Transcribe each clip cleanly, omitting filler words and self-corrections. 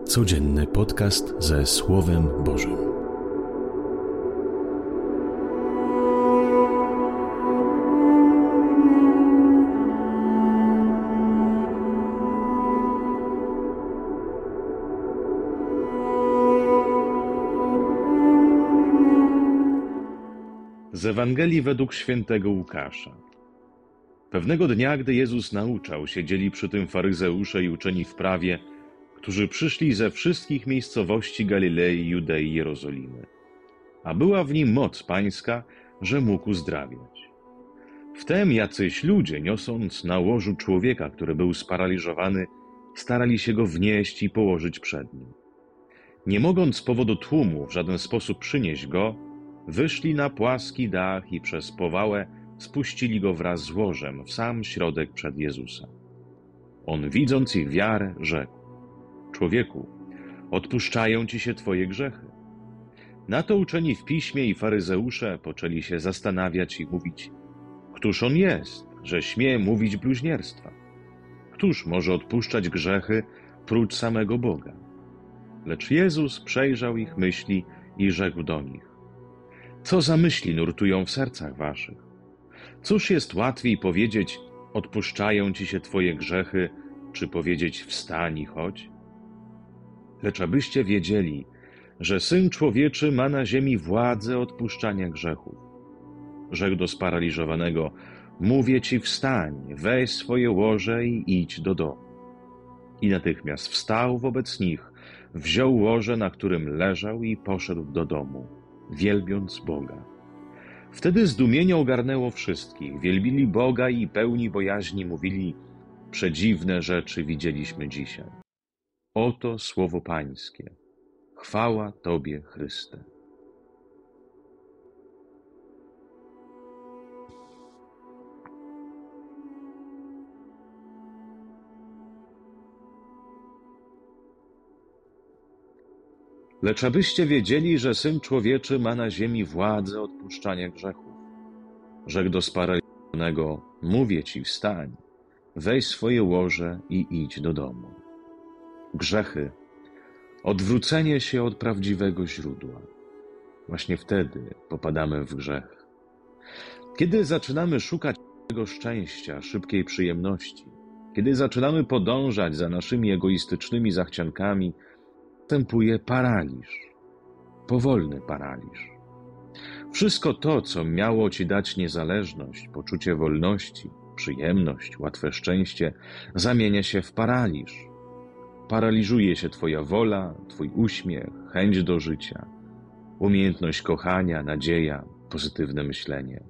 Codzienny podcast ze Słowem Bożym. Z Ewangelii według świętego Łukasza. Pewnego dnia, gdy Jezus nauczał, siedzieli przy tym faryzeusze i uczeni w prawie, którzy przyszli ze wszystkich miejscowości Galilei, Judei i Jerozolimy. A była w nim moc pańska, że mógł uzdrawiać. Wtem jacyś ludzie, niosąc na łożu człowieka, który był sparaliżowany, starali się go wnieść i położyć przed nim. Nie mogąc z powodu tłumu w żaden sposób przynieść go, wyszli na płaski dach i przez powałę spuścili go wraz z łożem w sam środek przed Jezusa. On, widząc ich wiarę, rzekł: Człowieku, odpuszczają ci się twoje grzechy. Na to uczeni w piśmie i faryzeusze poczęli się zastanawiać i mówić: Któż on jest, że śmie mówić bluźnierstwa? Któż może odpuszczać grzechy prócz samego Boga? Lecz Jezus przejrzał ich myśli i rzekł do nich: Co za myśli nurtują w sercach waszych? Cóż jest łatwiej powiedzieć: odpuszczają ci się twoje grzechy, czy powiedzieć: wstań i chodź? Lecz abyście wiedzieli, że Syn Człowieczy ma na ziemi władzę odpuszczania grzechów. Rzekł do sparaliżowanego: Mówię ci, wstań, weź swoje łoże i idź do domu. I natychmiast wstał wobec nich, wziął łoże, na którym leżał, i poszedł do domu, wielbiąc Boga. Wtedy zdumienie ogarnęło wszystkich, wielbili Boga i pełni bojaźni mówili: Przedziwne rzeczy widzieliśmy dzisiaj. Oto słowo Pańskie. Chwała Tobie, Chryste. Lecz abyście wiedzieli, że Syn Człowieczy ma na ziemi władzę odpuszczania grzechów. Rzekł do sparaliżowanego: Mówię ci, wstań, weź swoje łoże i idź do domu. Grzechy, odwrócenie się od prawdziwego źródła. Właśnie wtedy popadamy w grzech. Kiedy zaczynamy szukać tego szczęścia, szybkiej przyjemności, kiedy zaczynamy podążać za naszymi egoistycznymi zachciankami, następuje paraliż, powolny paraliż. Wszystko to, co miało ci dać niezależność, poczucie wolności, przyjemność, łatwe szczęście, zamienia się w paraliż. Paraliżuje się twoja wola, twój uśmiech, chęć do życia, umiejętność kochania, nadzieja, pozytywne myślenie.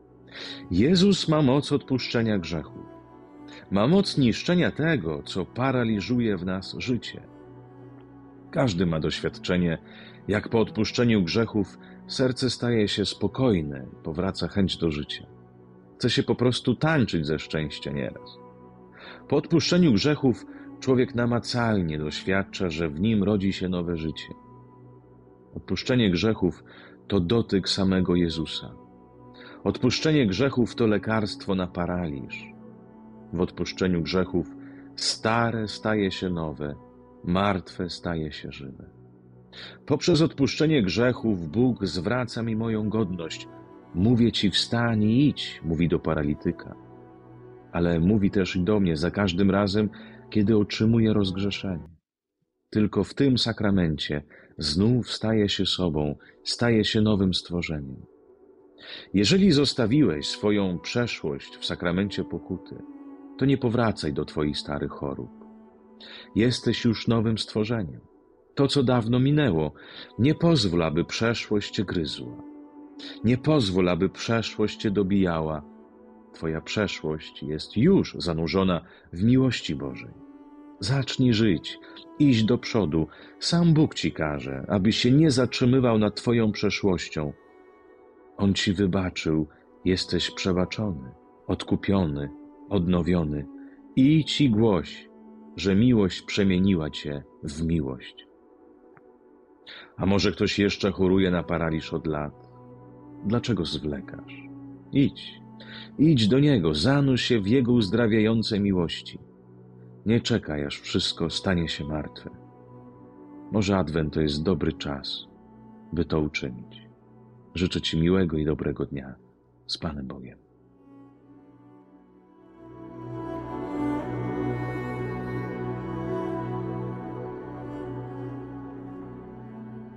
Jezus ma moc odpuszczenia grzechów. Ma moc niszczenia tego, co paraliżuje w nas życie. Każdy ma doświadczenie, jak po odpuszczeniu grzechów serce staje się spokojne, powraca chęć do życia. Chce się po prostu tańczyć ze szczęścia nieraz. Po odpuszczeniu grzechów człowiek namacalnie doświadcza, że w nim rodzi się nowe życie. Odpuszczenie grzechów to dotyk samego Jezusa. Odpuszczenie grzechów to lekarstwo na paraliż. W odpuszczeniu grzechów stare staje się nowe, martwe staje się żywe. Poprzez odpuszczenie grzechów Bóg zwraca mi moją godność. Mówię ci, wstań i idź, mówi do paralityka. Ale mówi też i do mnie za każdym razem, kiedy otrzymuję rozgrzeszenie. Tylko w tym sakramencie znów staję się sobą, staję się nowym stworzeniem. Jeżeli zostawiłeś swoją przeszłość w sakramencie pokuty, to nie powracaj do twoich starych chorób. Jesteś już nowym stworzeniem. To, co dawno minęło, nie pozwól, aby przeszłość cię gryzła. Nie pozwól, aby przeszłość cię dobijała. Twoja przeszłość jest już zanurzona w miłości Bożej. Zacznij żyć, iść do przodu. Sam Bóg ci każe, abyś się nie zatrzymywał nad twoją przeszłością. On ci wybaczył, jesteś przebaczony, odkupiony, odnowiony. Idź i głoś, że miłość przemieniła cię w miłość. A może ktoś jeszcze choruje na paraliż od lat? Dlaczego zwlekasz? Idź do Niego, zanurz się w Jego uzdrawiającej miłości. Nie czekaj, aż wszystko stanie się martwe. Może Adwent to jest dobry czas, by to uczynić. Życzę Ci miłego i dobrego dnia. Z Panem Bogiem.